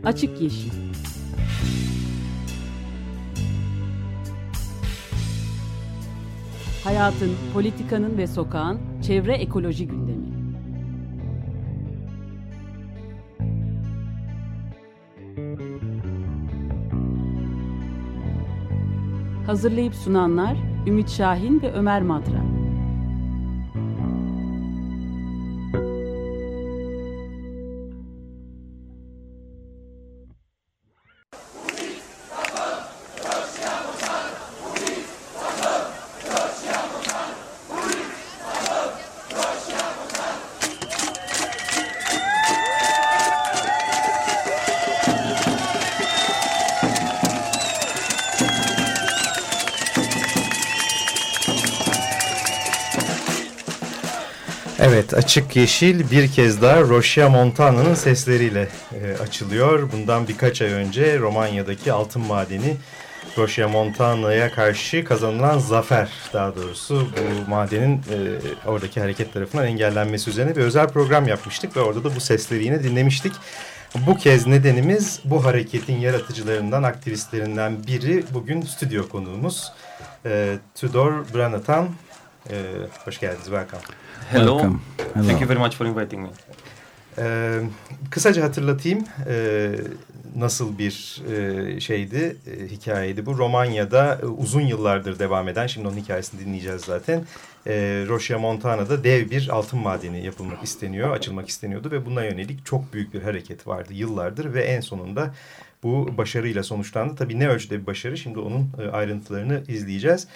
Açık Yeşil. Hayatın, politikanın ve sokağın çevre ekoloji gündemi. Hazırlayıp sunanlar Ümit Şahin ve Ömer Madra. Evet, Açık Yeşil bir kez daha Rosia Montana'nın sesleriyle açılıyor. Bundan birkaç ay önce Romanya'daki altın madeni Rosia Montana'ya karşı kazanılan zafer, daha doğrusu bu madenin oradaki hareket tarafından engellenmesi üzerine bir özel program yapmıştık ve orada da bu sesleri yine dinlemiştik. Bu kez nedenimiz bu hareketin yaratıcılarından, aktivistlerinden biri bugün stüdyo konuğumuz Tudor Branatan. Hoş geldiniz, welcome. Hello. Thank you very much for inviting me. Kısaca hatırlatayım nasıl bir şeydi, hikayeydi bu. Romanya'da uzun yıllardır devam eden, şimdi onun hikayesini dinleyeceğiz zaten. Rosia Montana'da dev bir altın madeni yapılmak isteniyor, açılmak isteniyordu ve buna yönelik çok büyük bir hareket vardı yıllardır ve en sonunda bu başarıyla sonuçlandı. Tabii ne ölçüde bir başarı, şimdi onun ayrıntılarını izleyeceğiz.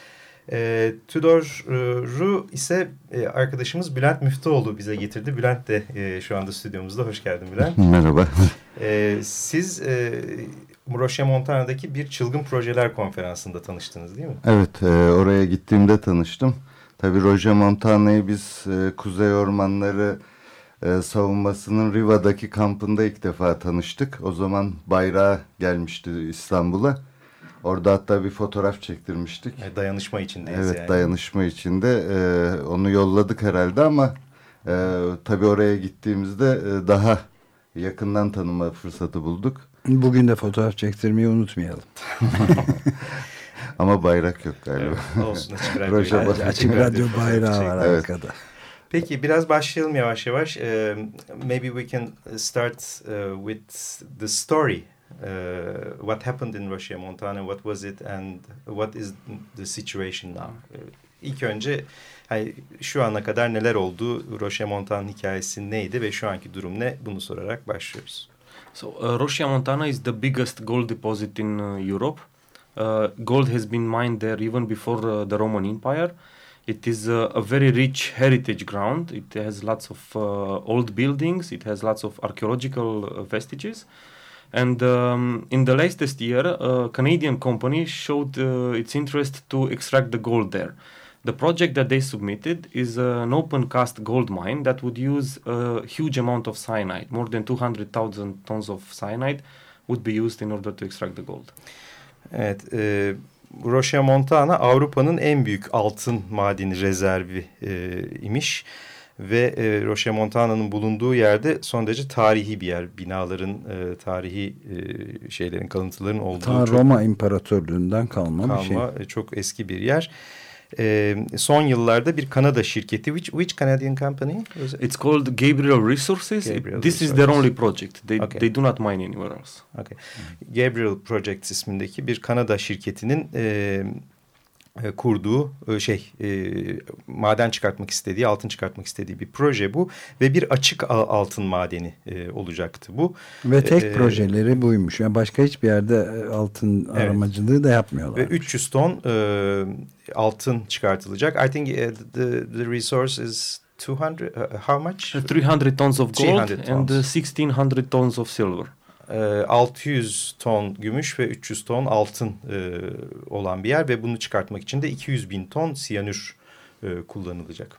Tudor'u ise arkadaşımız Bülent Müftüoğlu bize getirdi. Bülent de şu anda stüdyomuzda. Hoş geldin Bülent. Merhaba. Siz Rosia Montana'daki bir çılgın projeler konferansında tanıştınız değil mi? Evet, oraya gittiğimde tanıştım. Tabii Rosia Montana'yı biz Kuzey Ormanları savunmasının Riva'daki kampında ilk defa tanıştık. O zaman bayrağı gelmişti İstanbul'a. Orada hatta bir fotoğraf çektirmiştik. Dayanışma içindeyiz evet, yani. Dayanışma içinde. Onu yolladık herhalde ama tabii oraya gittiğimizde daha yakından tanıma fırsatı bulduk. Bugün de fotoğraf çektirmeyi unutmayalım. Ama bayrak yok galiba. Evet, olsun, açık radyo bayrağı var evet. arkada. Peki biraz başlayalım yavaş yavaş. Maybe we can start with the story. What happened in Rosia Montana? What was it and what is the situation now? İlk önce şu ana kadar neler oldu? Rosia Montana hikayesi neydi ve şu anki durum ne? Bunu sorarak başlıyoruz. So Rosia Montana is the biggest gold deposit in Europe. Gold has been mined there even before the Roman Empire. It is a very rich heritage ground. It has lots of old buildings. It has lots of archaeological vestiges. And in the latest year, a Canadian company showed its interest to extract the gold there. The project that they submitted is an open-cast gold mine that would use a huge amount of cyanide. More than 200,000 tons of cyanide would be used in order to extract the gold. Evet, Rosia Montana Avrupa'nın en büyük altın madeni rezervi imiş. Ve Rosia Montana'nın bulunduğu yerde son derece tarihi bir yer. Binaların, tarihi şeylerin, kalıntıların olduğu. Roma İmparatorluğundan kalma bir şey. Çok eski bir yer. Son yıllarda bir Kanada şirketi, which Canadian company? It's called Gabriel Resources. This is their only project. They do not mine anywhere else. Okay. Gabriel Projects ismindeki bir Kanada şirketinin kurduğu maden çıkartmak istediği, altın çıkartmak istediği bir proje bu ve bir açık altın madeni olacaktı bu. Ve tek projeleri buymuş. Yani başka hiçbir yerde altın aramacılığı da yapmıyorlar. Ve 300 ton altın çıkartılacak. I think the resource is 200 how much? 300 tons of gold and 1600 tons of silver. 600 ton gümüş ve 300 ton altın olan bir yer ve bunu çıkartmak için de 200.000 ton siyanür kullanılacak.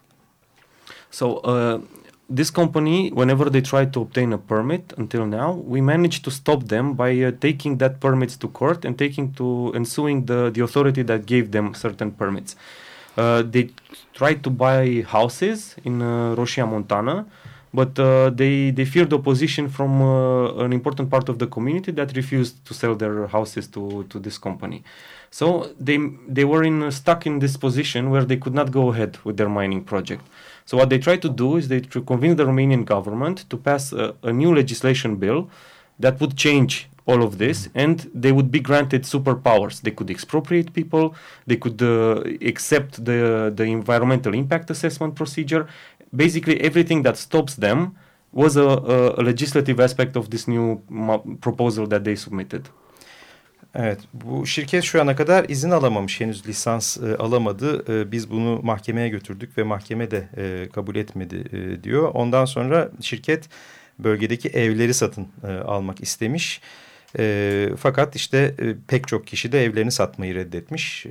So this company, whenever they tried to obtain a permit until now, we managed to stop them by taking that permits to court and suing the authority that gave them certain permits. They tried to buy houses in Rosia Montana. but they feared opposition from an important part of the community that refused to sell their houses to this company. So they were stuck in this position where they could not go ahead with their mining project. So what they tried to do is they convince the Romanian government to pass a new legislation bill that would change all of this, and they would be granted superpowers. They could expropriate people, they could accept the environmental impact assessment procedure. Basically, everything that stops them was a legislative aspect of this new proposal that they submitted. Evet, bu şirket şu ana kadar izin alamamış, henüz lisans alamadı. Biz bunu mahkemeye götürdük ve mahkeme de kabul etmedi diyor. Ondan sonra şirket bölgedeki evleri satın almak istemiş. Fakat işte pek çok kişi de evlerini satmayı reddetmiş.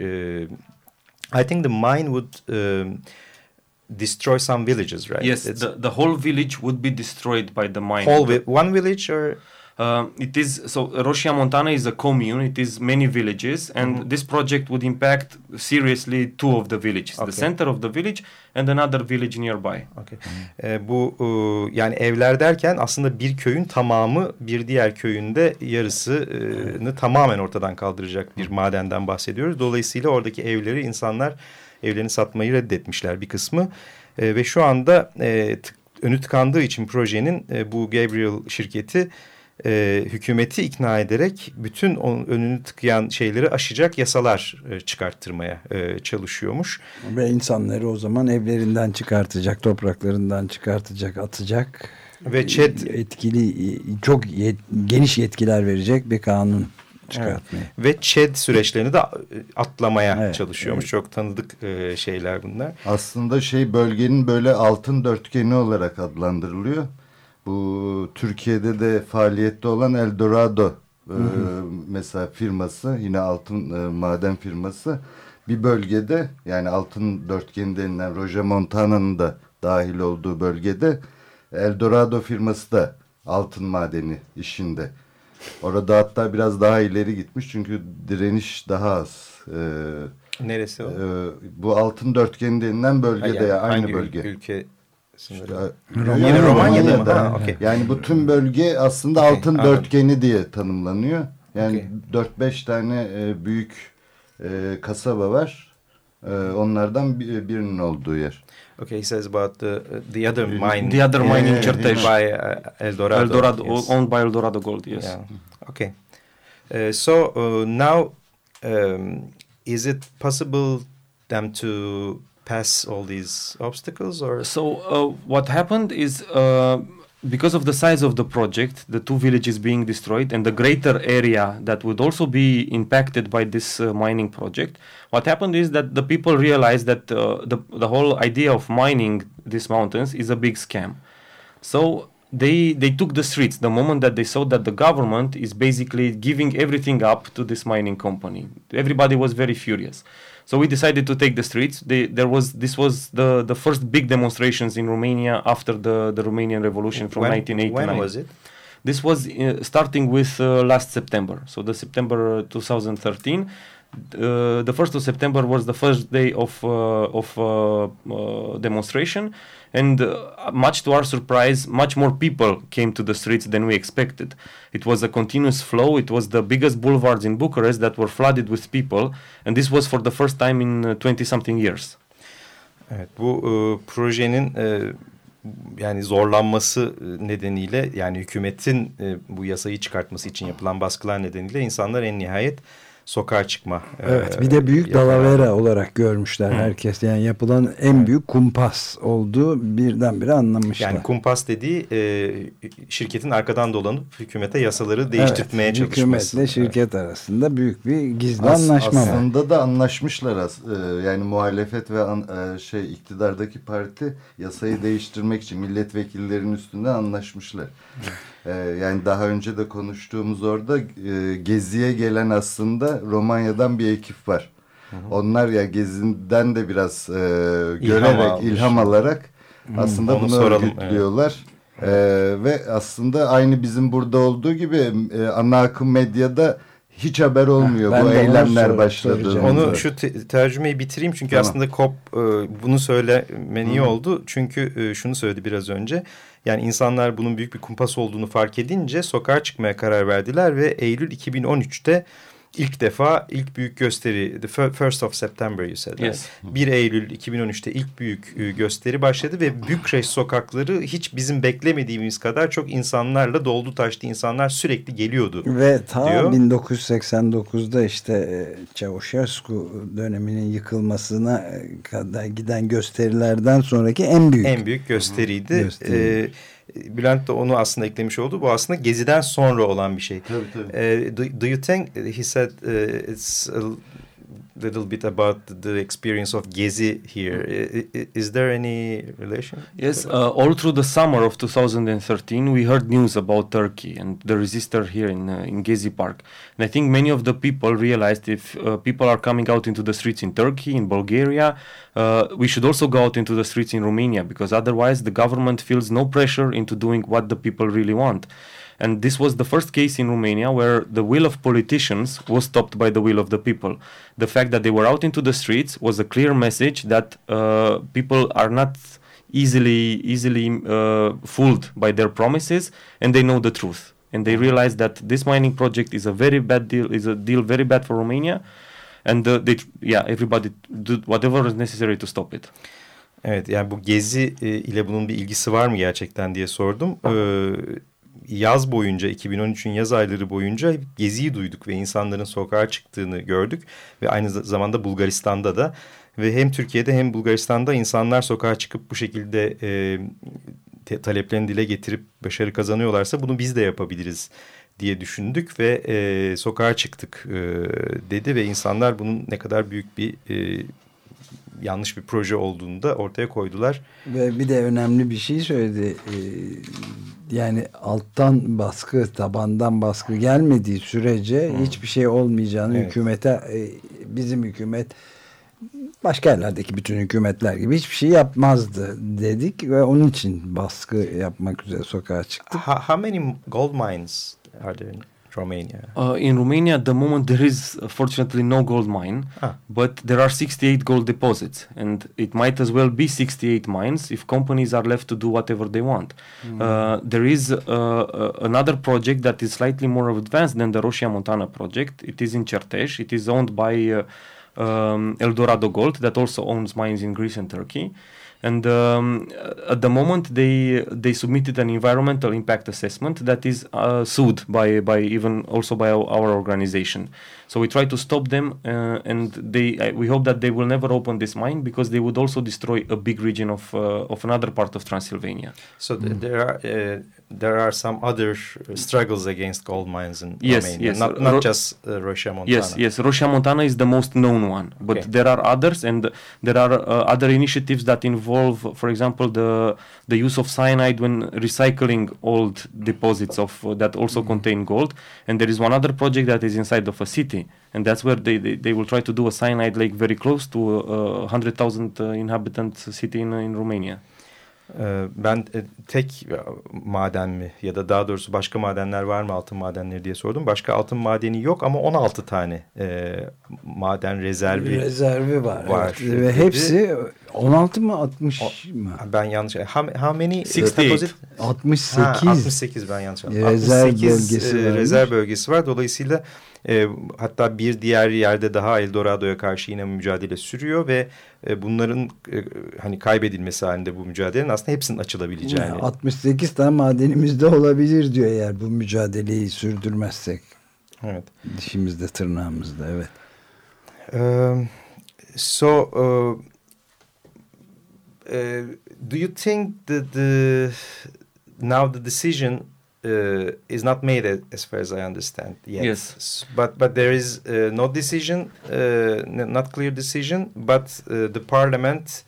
I think the mine would destroy some villages, right? Yes, the whole village would be destroyed by the mine. One village or? It is so. Roșia Montană is a commune. It is many villages, and this project would impact seriously two of the villages, the center of the village and another village nearby. Okay. Bu yani evler derken aslında bir köyün tamamı bir diğer köyünde yarısını tamamen ortadan kaldıracak bir madenden bahsediyoruz. Dolayısıyla oradaki evleri insanlar evlerini satmayı reddetmişler bir kısmı ve şu anda önü tıkandığı için projenin bu Gabriel şirketi hükümeti ikna ederek bütün önünü tıkayan şeyleri aşacak yasalar çıkarttırmaya çalışıyormuş. Ve insanları o zaman evlerinden çıkartacak, topraklarından çıkartacak, atacak. Ve ÇED çok geniş yetkiler verecek bir kanun çıkartmaya. Evet. Ve ÇED süreçlerini de atlamaya çalışıyormuş. Evet. Çok tanıdık şeyler bunlar. Aslında bölgenin böyle altın dörtgeni olarak adlandırılıyor. Bu Türkiye'de de faaliyette olan Eldorado mesela firması, yine altın maden firması bir bölgede, yani altın dörtgeni denilen Roșia Montana'nın da dahil olduğu bölgede Eldorado firması da altın madeni işinde. Orada hatta biraz daha ileri gitmiş çünkü direniş daha az. Neresi o? Bu altın dörtgeni denilen bölgede, yani aynı bölge. Ülke? Yine Romanya'da. Okay. Yani bu tüm bölge aslında altın dörtgeni diye tanımlanıyor. Yani 4-5 tane büyük kasaba var. Onlardan birinin olduğu yer. Okay, he says about the other mine. The other mine in Certeș. By Eldorado. Eldorado, yes. Owned by Eldorado Gold, yes. Yeah. Okay. So now, is it possible them to pass all these obstacles, or? So what happened is because of the size of the project, the two villages being destroyed and the greater area that would also be impacted by this mining project, what happened is that the people realized that the whole idea of mining these mountains is a big scam. So they took the streets the moment that they saw that the government is basically giving everything up to this mining company. Everybody was very furious. So we decided to take the streets. This was the first big demonstrations in Romania after the Romanian Revolution from 1989. When was it? This was starting with last September. So the September 2013. The 1st of September was the first day of demonstration, and much to our surprise, much more people came to the streets than we expected. It was a continuous flow. It was the biggest boulevards in Bucharest that were flooded with people, and this was for the first time in 20-something years. Evet, bu projenin yani zorlanması nedeniyle, yani hükümetin bu yasayı çıkartması için yapılan baskılar nedeniyle insanlar en nihayet sokağa çıkma. Evet, bir de büyük dalavera olarak görmüşler herkes. Yani yapılan en büyük kumpas olduğu birdenbire anlamışlar. Yani kumpas dediği şirketin arkadan dolanıp hükümete yasaları değiştirmeye çalışması. Hükümetle şirket arasında büyük bir gizli anlaşma var. Aslında da anlaşmışlar. Yani muhalefet ve iktidardaki parti yasayı değiştirmek için milletvekillerinin üstünden anlaşmışlar. Yani daha önce de konuştuğumuz orada geziye gelen aslında Romanya'dan bir ekip var. Onlar ya gezinden de biraz görerek, ilham alarak aslında bunu örgütlüyorlar. Ve aslında aynı bizim burada olduğu gibi ana akım medyada hiç haber olmuyor bu eylemler başladı. Onu şu tercümeyi bitireyim çünkü tamam. Aslında COP bunu söylemen iyi oldu. Çünkü şunu söyledi biraz önce. Yani insanlar bunun büyük bir kumpas olduğunu fark edince sokağa çıkmaya karar verdiler ve Eylül 2013'te ilk büyük gösteri, the 1st of September you said. Yes. 1 Eylül 2013'te ilk büyük gösteri başladı ve Bükreş sokakları hiç bizim beklemediğimiz kadar çok insanlarla doldu taştı. İnsanlar sürekli geliyordu. Ve ta diyor. 1989'da işte Çavuşescu döneminin yıkılmasına kadar giden gösterilerden sonraki en büyük gösteriydi. Bülent de onu aslında eklemiş oldu. Bu aslında Gezi'den sonra olan bir şey. Tabii. Do you think, he said it's a little bit about the experience of Gezi here. Is there any relation? Yes, all through the summer of 2013 we heard news about Turkey and the resistors here in Gezi Park. And I think many of the people realized if people are coming out into the streets in Turkey, in Bulgaria, we should also go out into the streets in Romania, because otherwise the government feels no pressure into doing what the people really want. And this was the first case in Romania where the will of politicians was stopped by the will of the people. The fact that they were out into the streets was a clear message that people are not easily fooled by their promises, and they know the truth. And they realize that this mining project is a very bad deal, is a deal very bad for Romania. And everybody did whatever is necessary to stop it. Evet, yani bu Gezi ile bunun bir ilgisi var mı gerçekten diye sordum. Yaz boyunca, 2013'ün yaz ayları boyunca Gezi'yi duyduk ve insanların sokağa çıktığını gördük. Ve aynı zamanda Bulgaristan'da da ve hem Türkiye'de hem Bulgaristan'da insanlar sokağa çıkıp bu şekilde taleplerini dile getirip başarı kazanıyorlarsa bunu biz de yapabiliriz diye düşündük ve sokağa çıktık dedi ve insanlar bunun ne kadar büyük bir yanlış bir proje olduğunu da ortaya koydular. Ve bir de önemli bir şey söyledi. Yani alttan baskı, tabandan baskı gelmediği sürece hiçbir şey olmayacağını hükümete, bizim hükümet başka yerlerdeki bütün hükümetler gibi hiçbir şey yapmazdı dedik ve onun için baskı yapmak üzere sokağa çıktık. How many gold mines are there in Romania? In Romania, at the moment, there is fortunately no gold mine, but there are 68 gold deposits, and it might as well be 68 mines if companies are left to do whatever they want. There is another project that is slightly more advanced than the Roșia Montana project. It is in Certeș. It is owned by Eldorado Gold, that also owns mines in Greece and Turkey. And at the moment, they submitted an environmental impact assessment that is sued by even also by our organization. So we try to stop them, and we hope that they will never open this mine, because they would also destroy a big region of another part of Transylvania. So there are some other struggles against gold mines in Romania. Yes, not just Roșia Montana. Yes, Roșia Montana is the most known one, but there are others, and there are other initiatives that involve, for example, the use of cyanide when recycling old deposits that also contain gold. And there is one other project that is inside of a city, and that's where they will try to do a cyanide lake very close to a 100,000 inhabitant city in Romania. Ben tek maden mi ya da daha doğrusu başka madenler var mı, altın madenleri diye sordum. Başka altın madeni yok ama 16 tane maden rezervi var. Evet. Ve hepsi 16 mı 60 mı? Ben yanlış. How many? 68. 68 ben yanlış anladım. Rezerv bölgesi var. Dolayısıyla hatta bir diğer yerde daha Eldorado'ya karşı yine mücadele sürüyor ve bunların hani kaybedilmesi halinde bu mücadelenin aslında hepsinin açılabileceğini. 68 tane madenimizde olabilir diyor eğer bu mücadeleyi sürdürmezsek. Evet. Dişimizde, tırnağımızda, evet. Do you think that now the decision is not made as far as I understand yet? Yes, but there is no decision, not clear decision. But the parliament,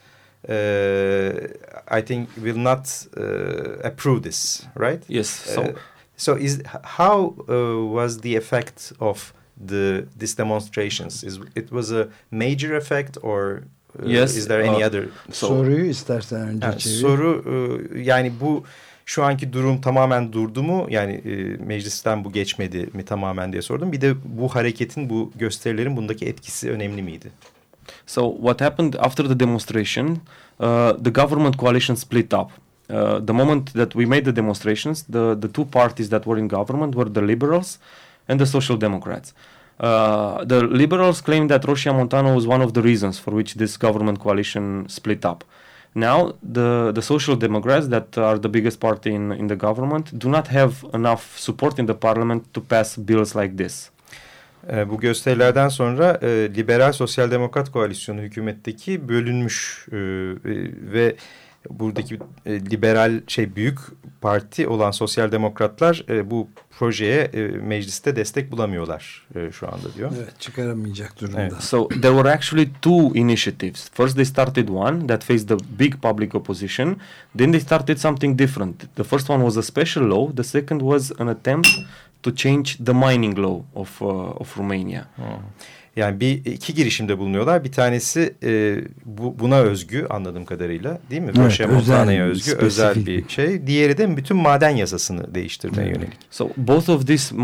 I think, will not approve this, right? Yes. So how was the effect of these demonstrations? It was a major effect, or yes, is there any other? Soruyu istersen önce çevir. Soru yani bu şu anki durum tamamen durdu mu? Yani meclisten bu geçmedi mi tamamen diye sordum. Bir de bu hareketin, bu gösterilerin bundaki etkisi önemli miydi? So what happened after the demonstration, the government coalition split up. The moment that we made the demonstrations, the two parties that were in government were the Liberals and the Social Democrats. The Liberals claimed that Roșia Montană was one of the reasons for which this government coalition split up. Now, the Social Democrats, that are the biggest party in the government, do not have enough support in the parliament to pass bills like this. Bu gösterilerden sonra Liberal Sosyal Demokrat Koalisyonu hükümetteki bölünmüş ve buradaki liberal büyük parti olan Sosyal Demokratlar bu projeye mecliste destek bulamıyorlar şu anda diyor. Evet, çıkaramayacak durumda. Evet. So there were actually two initiatives. First they started one that faced the big public opposition. Then they started something different. The first one was a special law. The second was an attempt to change the mining law of Romania. Yani iki girişimde bulunuyorlar. Bir tanesi buna özgü anladığım kadarıyla, değil mi? Evet, Roșia Montana'ya özgü özel bir şey. Diğeri de bütün maden yasasını değiştirmeye yönelik. So both of these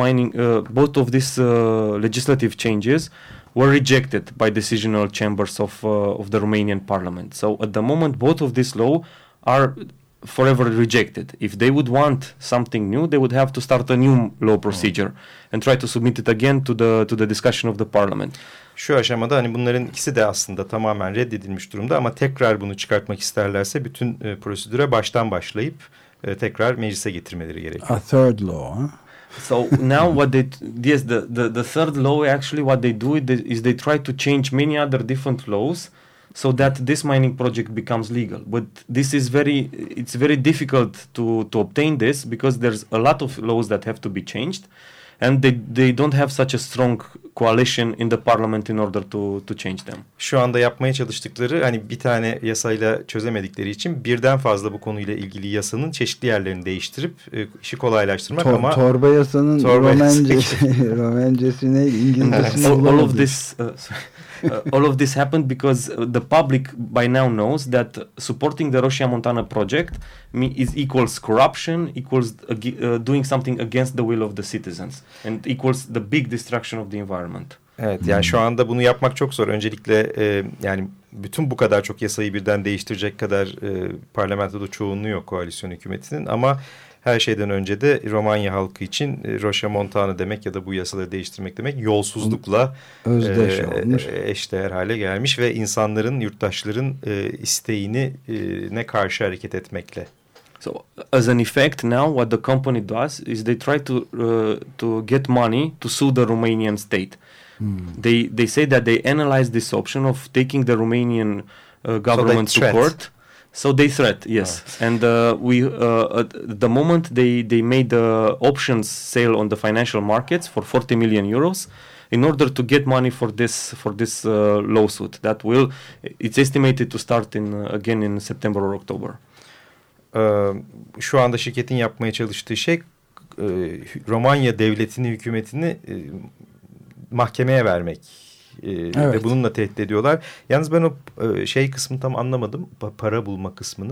legislative changes were rejected by decisional chambers of the Romanian parliament. So at the moment both of these laws are forever rejected. If they would want something new, they would have to start a new law procedure and try to submit it again to the discussion of the parliament. Şu aşamada hani bunların ikisi de aslında tamamen reddedilmiş durumda ama tekrar bunu çıkartmak isterlerse bütün prosedüre baştan başlayıp tekrar meclise getirmeleri gerekiyor. A third law, huh? So now what they the third law actually what they do is they try to change many other different laws so that this mining project becomes legal. But this is it's very difficult to obtain this because there's a lot of laws that have to be changed, and they don't have such a strong coalition in the parliament in order to change them. Şu anda yapmaya çalıştıkları hani bir tane yasayla çözemedikleri için birden fazla bu konuyla ilgili yasanın çeşitli yerlerini değiştirip işi kolaylaştırmak ama torba yasanın Romencesi neydi? İngilizcesi all of this all of this happened because the public by now knows that supporting the Roșia Montană project is equals corruption, equals doing something against the will of the citizens, and equals the big destruction of the environment. Evet, yani şu anda bunu yapmak çok zor. Öncelikle yani bütün bu kadar çok yasayı birden değiştirecek kadar parlamentoda çoğunluğu yok koalisyon hükümetinin ama her şeyden önce de Romanya halkı için Roșia Montană demek ya da bu yasaları değiştirmek demek yolsuzlukla eşdeğer hale gelmiş ve insanların, yurttaşların isteğini ne karşı hareket etmekle. So as an effect now what the company does is they try to get money to sue the Romanian state. They say that they analyze this option of taking the Romanian government support. So they threat, yes. And at the moment they made the options sale on the financial markets for 40 million euros in order to get money for this lawsuit. It's estimated to start again in September or October. Şu anda şirketin yapmaya çalıştığı şey Romanya devletini, hükümetini mahkemeye vermek. Evet. Ve bununla tehdit ediyorlar. Yalnız ben o kısmını tam anlamadım. Para bulma kısmını.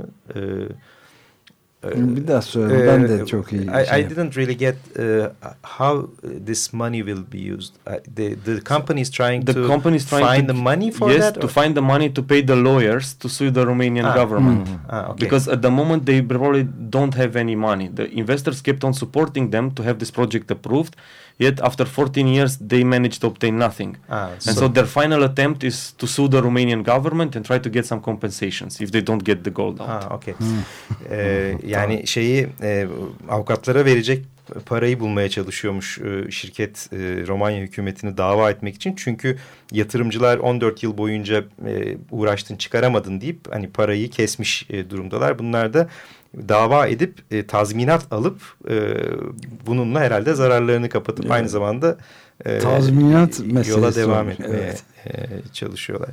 Bir daha söyle. Ben de çok iyi. I didn't really get how this money will be used. The company is trying to find the money for that? Yes, to find the money to pay the lawyers to sue the Romanian government. Okay. Because at the moment they probably don't have any money. The investors kept on supporting them to have this project approved. Yet after 14 years they managed to obtain nothing. So their final attempt is to sue the Romanian government and try to get some compensations if they don't get the gold out. Okay. Yani avukatlara verecek parayı bulmaya çalışıyormuş şirket Romanya hükümetini dava etmek için. Çünkü yatırımcılar 14 yıl boyunca uğraştın çıkaramadın deyip hani parayı kesmiş durumdalar. Bunlar da dava edip tazminat alıp bununla herhalde zararlarını kapatıp aynı zamanda tazminat yola devam etmeye çalışıyorlar.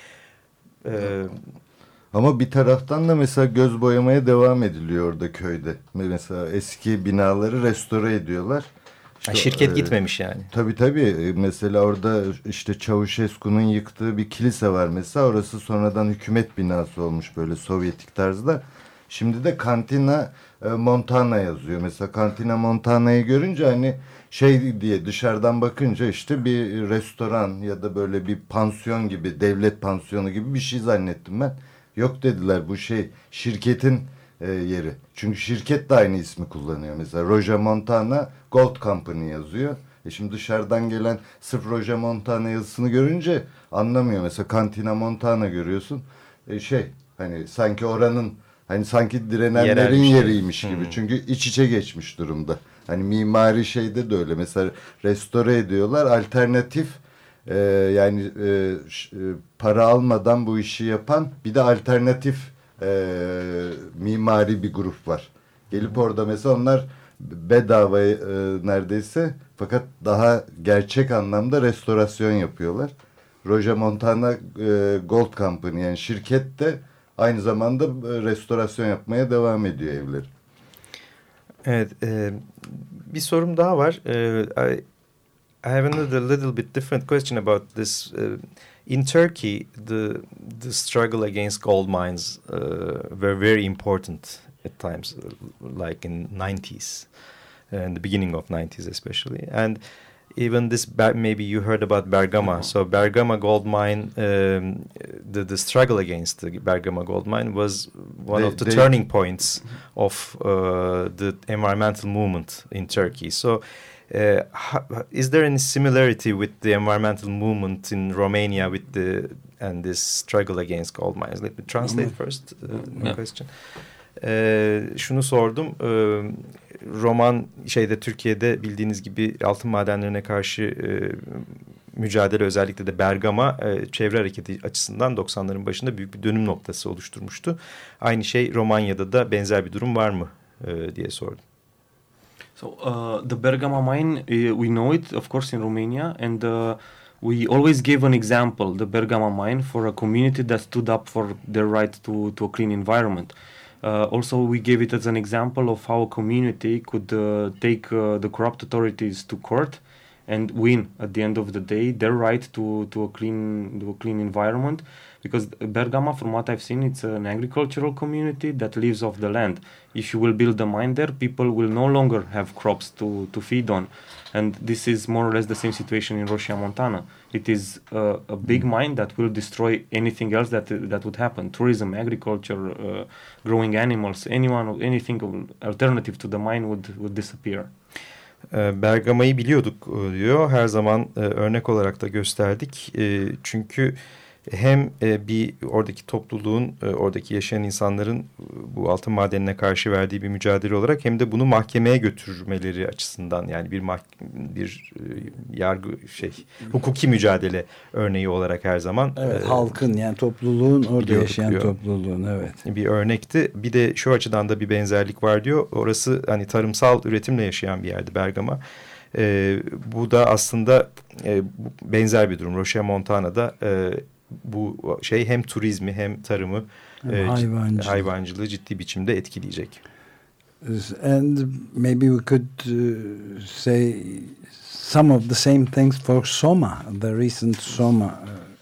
Ama bir taraftan da mesela göz boyamaya devam ediliyor orada köyde. Mesela eski binaları restore ediyorlar. İşte, şirket gitmemiş yani. Tabii. Mesela orada işte Çavuşescu'nun yıktığı bir kilise var mesela. Orası sonradan hükümet binası olmuş böyle Sovyetik tarzda. Şimdi de Cantina Montana yazıyor. Mesela Cantina Montana'yı görünce hani şey diye dışarıdan bakınca işte bir restoran ya da böyle bir pansiyon gibi, devlet pansiyonu gibi bir şey zannettim ben. Yok dediler, bu şey şirketin yeri. Çünkü şirket de aynı ismi kullanıyor. Mesela Roger Montana Gold Company yazıyor. Şimdi dışarıdan gelen sırf Roger Montana yazısını görünce anlamıyor. Mesela Cantina Montana görüyorsun. Hani sanki oranın, hani sanki direnenlerin yeriymiş gibi. Çünkü iç içe geçmiş durumda. Hani mimari şeyde de öyle. Mesela restore ediyorlar. Alternatif para almadan bu işi yapan bir de alternatif mimari bir grup var. Gelip orada mesela onlar bedava neredeyse, fakat daha gerçek anlamda restorasyon yapıyorlar. Roger Montana Gold Company, yani şirket de aynı zamanda restorasyon yapmaya devam ediyor evleri. Evet, bir sorum daha var. I have another little bit different question about this. In Turkey, the struggle against gold mines were very important at times, like in 90s, and the beginning of 90s especially. And even this, maybe you heard about Bergama. So Bergama gold mine, the struggle against the Bergama gold mine was one of the turning points of the environmental movement in Turkey. So is there any similarity with the environmental movement in Romania and this struggle against gold mines? Let me translate first the question. Şunu sordum. Türkiye'de bildiğiniz gibi altın madenlerine karşı mücadele, özellikle de Bergama çevre hareketi açısından 90'ların başında büyük bir dönüm noktası oluşturmuştu. Aynı şey Romanya'da da benzer bir durum var mı diye sordum. So the Bergama mine, we know it, of course, in Romania, and we always give an example, the Bergama mine, for a community that stood up for their right to a clean environment. Also, we gave it as an example of how a community could take the corrupt authorities to court and win at the end of the day their right to a clean environment. Because Bergama, from what I've seen, it's an agricultural community that lives off the land. If you will build a mine there, people will no longer have crops to feed on. And this is more or less the same situation in Roșia Montana. It is a big mine that will destroy anything else that would happen. Tourism, agriculture, growing animals, anything alternative to the mine would disappear. Bergama'yı biliyorduk diyor. Her zaman örnek olarak da gösterdik. Çünkü hem bir oradaki topluluğun, oradaki yaşayan insanların bu altın madenine karşı verdiği bir mücadele olarak, hem de bunu mahkemeye götürmeleri açısından, yani bir yargı hukuki mücadele örneği olarak her zaman. Evet, halkın, yani topluluğun, orada yaşayan diyor. Topluluğun, evet. Bir örnekti. Bir de şu açıdan da bir benzerlik var diyor. Orası hani tarımsal üretimle yaşayan bir yerdi Bergama. Bu da aslında benzer bir durum. Roșia Montana'da bu hem turizmi hem tarımı, hayvancılığı ciddi biçimde etkileyecek. And maybe we could say some of the same things for Soma, the recent Soma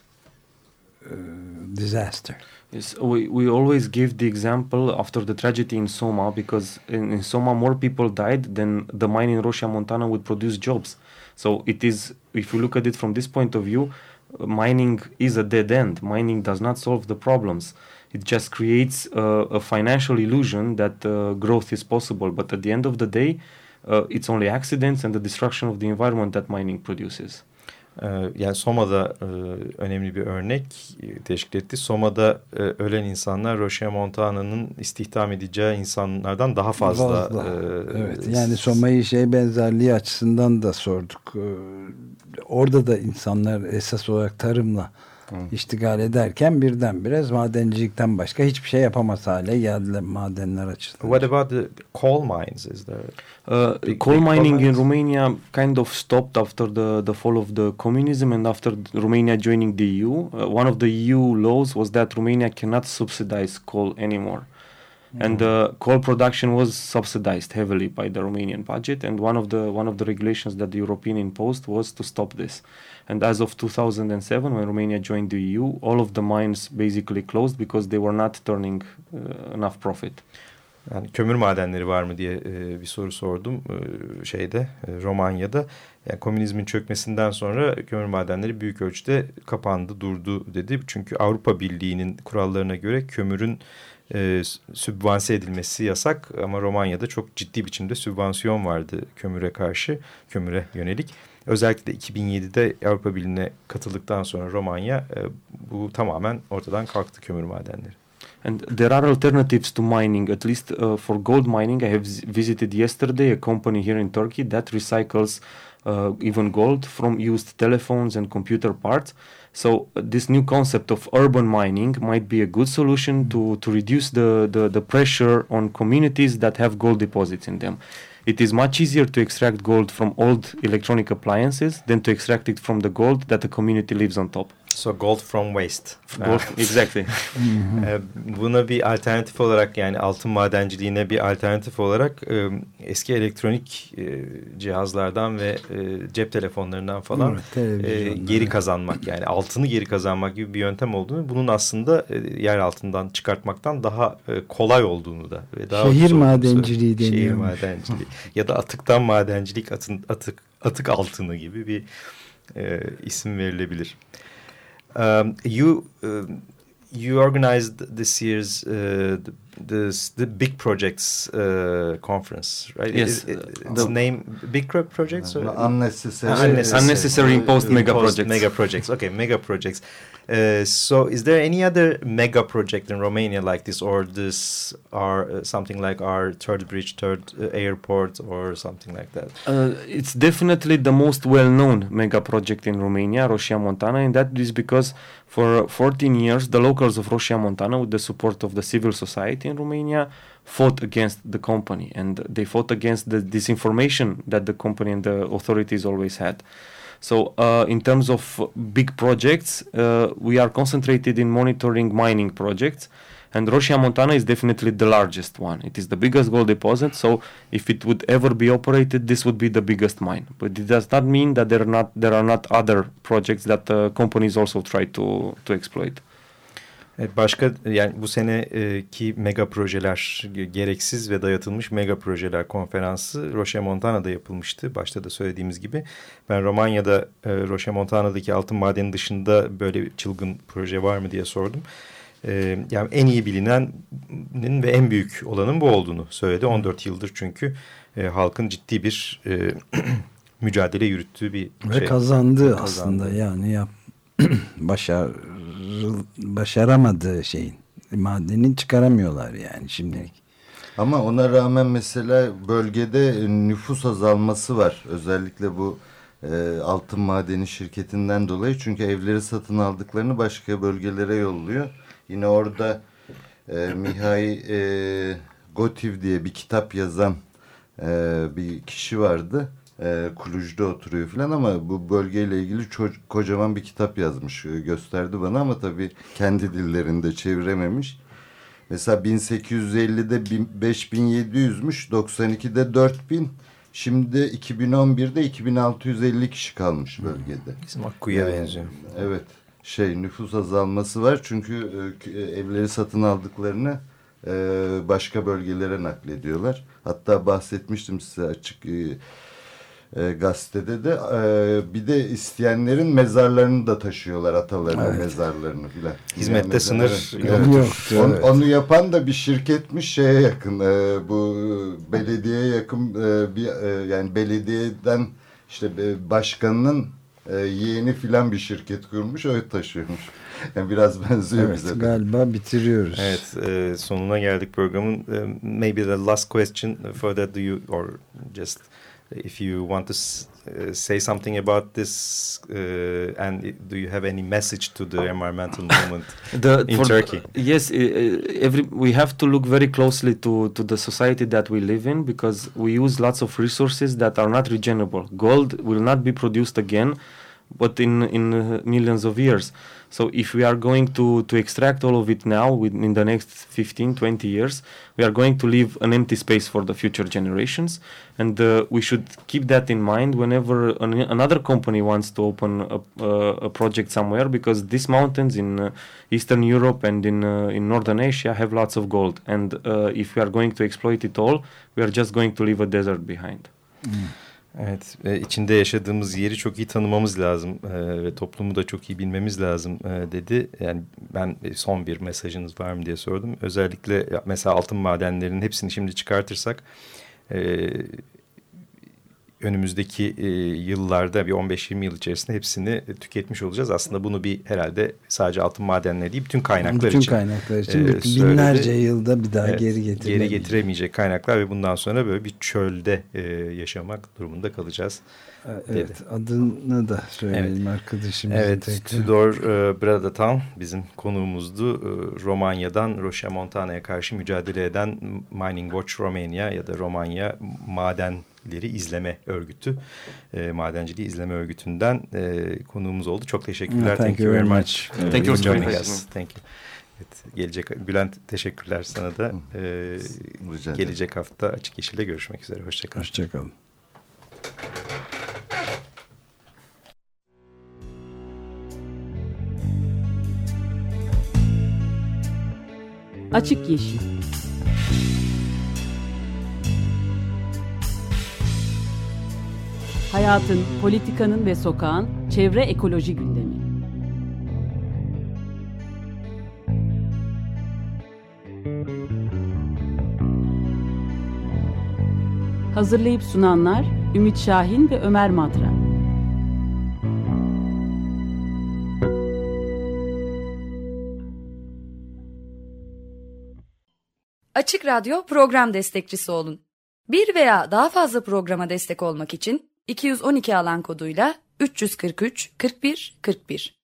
disaster. Yes, we always give the example after the tragedy in Soma, because in Soma more people died than the mine in Roșia Montana would produce jobs. So it is, if you look at it from this point of view, mining is a dead end. Mining does not solve the problems. It just creates a financial illusion that growth is possible. But at the end of the day, it's only accidents and the destruction of the environment that mining produces. Yani Soma'da önemli bir örnek teşkil etti. Soma'da ölen insanlar Roșia Montana'nın istihdam edeceği insanlardan daha fazla. Evet, yani Soma'yı benzerliği açısından da sorduk. Orada da insanlar esas olarak tarımla iştigal ederken birdenbire madencilikten başka hiçbir şey yapamaz hale geldiler madenler açısından. What about the coal mines? Is there coal mining in Romania kind of stopped after the fall of the communism and after Romania joining the EU. One of the EU laws was that Romania cannot subsidize coal anymore. And coal production was subsidized heavily by the Romanian budget, and one of the regulations that the European imposed was to stop this. And as of 2007, when Romania joined the EU, all of the mines basically closed because they were not turning enough profit. Yani kömür madenleri var mı diye bir soru sordum Romanya'da. Yani komünizmin çökmesinden sonra kömür madenleri büyük ölçüde kapandı, durdu dedi. Çünkü Avrupa Birliği'nin kurallarına göre kömürün sübvanse edilmesi yasak, ama Romanya'da çok ciddi biçimde sübvansiyon vardı kömüre yönelik. Özellikle 2007'de Avrupa Birliği'ne katıldıktan sonra Romanya bu tamamen ortadan kalktı, kömür madenleri. And there are alternatives to mining, at least for gold mining. I have visited yesterday a company here in Turkey that recycles even gold from used telephones and computer parts. So this new concept of urban mining might be a good solution to reduce the pressure on communities that have gold deposits in them. It is much easier to extract gold from old electronic appliances than to extract it from the gold that the community lives on top. So gold from waste. Gold, exactly. Buna bir alternatif olarak, yani altın madenciliğine bir alternatif olarak eski elektronik cihazlardan ve cep telefonlarından falan geri kazanmak, yani altını geri kazanmak gibi bir yöntem olduğunu, bunun aslında yer altından çıkartmaktan daha kolay olduğunu da ve daha şehir madenciliği deniyor. Şehir madenciliği ya da atıktan madencilik, atık altını gibi bir isim verilebilir. You organized this year's the Big Projects conference, right? Yes. The name Big Projects? Unnecessary imposed mega projects. Mega projects. Okay, mega projects. So is there any other mega project in Romania like this, or this are something like our third bridge, third airport, or something like that? It's definitely the most well-known mega project in Romania, Roșia Montană, and that is because for 14 years the locals of Roșia Montană, with the support of the civil society in Romania, fought against the company, and they fought against the disinformation that the company and the authorities always had. So in terms of big projects, we are concentrated in monitoring mining projects, and Roșia Montană is definitely the largest one. It is the biggest gold deposit, so if it would ever be operated, this would be the biggest mine. But it does not mean that there are not other projects that companies also try to exploit. Başka, yani bu seneki mega projeler, gereksiz ve dayatılmış mega projeler konferansı Roșia Montană'da yapılmıştı. Başta da söylediğimiz gibi. Ben Romanya'da Roșia Montană'daki altın madeni dışında böyle çılgın proje var mı diye sordum. Yani en iyi bilinenin ve en büyük olanın bu olduğunu söyledi. 14 yıldır çünkü halkın ciddi bir mücadele yürüttüğü bir ve şey. Kazandı aslında, yani başaramadığı şeyin madenini çıkaramıyorlar yani şimdilik. Ama ona rağmen mesela bölgede nüfus azalması var. Özellikle bu altın madeni şirketinden dolayı. Çünkü evleri satın aldıklarını başka bölgelere yolluyor. Yine orada Mihai Gotiv diye bir kitap yazan bir kişi vardı. Kuluj'da oturuyor falan, ama bu bölgeyle ilgili kocaman bir kitap yazmış, gösterdi bana, ama tabii kendi dillerinde çevirememiş. Mesela 1850'de 5700'müş, 92'de 4000, şimdi 2011'de 2650 kişi kalmış bölgede. Bizim Akkuyu'ya benziyor. Evet, nüfus azalması var çünkü evleri satın aldıklarını başka bölgelere naklediyorlar. Hatta bahsetmiştim size açık gazetede de bir de isteyenlerin mezarlarını da taşıyorlar, atalarının mezarlarını filan. Hizmette sınır yok. Onu yapan da bir şirketmiş, şeye yakın, bu belediyeye yakın yani belediyeden işte başkanının yeğeni filan bir şirket kurmuş, öyle taşıyormuş. Yani biraz benziyor bize. Galiba bitiriyoruz. Evet, sonuna geldik programın. Maybe the last question for that, do you, or just if you want to say something about this, and do you have any message to the environmental movement in Turkey? Yes, we have to look very closely to the society that we live in, because we use lots of resources that are not regenerable. Gold will not be produced again, but in millions of years. So if we are going to extract all of it now in the next 15-20 years, we are going to leave an empty space for the future generations, and we should keep that in mind whenever another company wants to open a project somewhere, because these mountains in Eastern Europe and in Northern Asia have lots of gold, and if we are going to exploit it all, we are just going to leave a desert behind. Evet, içinde yaşadığımız yeri çok iyi tanımamız lazım ve toplumu da çok iyi bilmemiz lazım dedi. Yani ben son bir mesajınız var mı diye sordum. Özellikle mesela altın madenlerinin hepsini şimdi çıkartırsak önümüzdeki yıllarda bir 15-20 yıl içerisinde hepsini tüketmiş olacağız. Aslında bunu bir herhalde sadece altın madenleri değil, bütün kaynaklar için. Bütün kaynaklar için binlerce yılda bir daha geri getiremeyecek kaynaklar ve bundan sonra böyle bir çölde yaşamak durumunda kalacağız. Evet, adını da söyleyelim arkadaşımızın. Evet, Tudor Bradatan bizim konuğumuzdu. Romanya'dan Roșia-Montana'ya karşı mücadele eden Mining Watch Romania ya da Romanya Madenleri İzleme Örgütü, Madenciliği İzleme Örgütü'nden konuğumuz oldu. Çok teşekkürler. Thank you very much. Thank you for joining us. Thank you. Evet, gelecek Bülent, teşekkürler sana da. Gelecek hafta Açık Yeşil'de görüşmek üzere. Hoşçakalın. Hoşçakalın. Açık Yeşil. Hayatın, politikanın ve sokağın çevre ekoloji gündemi. Hazırlayıp sunanlar Ümit Şahin ve Ömer Madra. Açık Radyo program destekçisi olun. Bir veya daha fazla programa destek olmak için 212 alan koduyla 343 41 41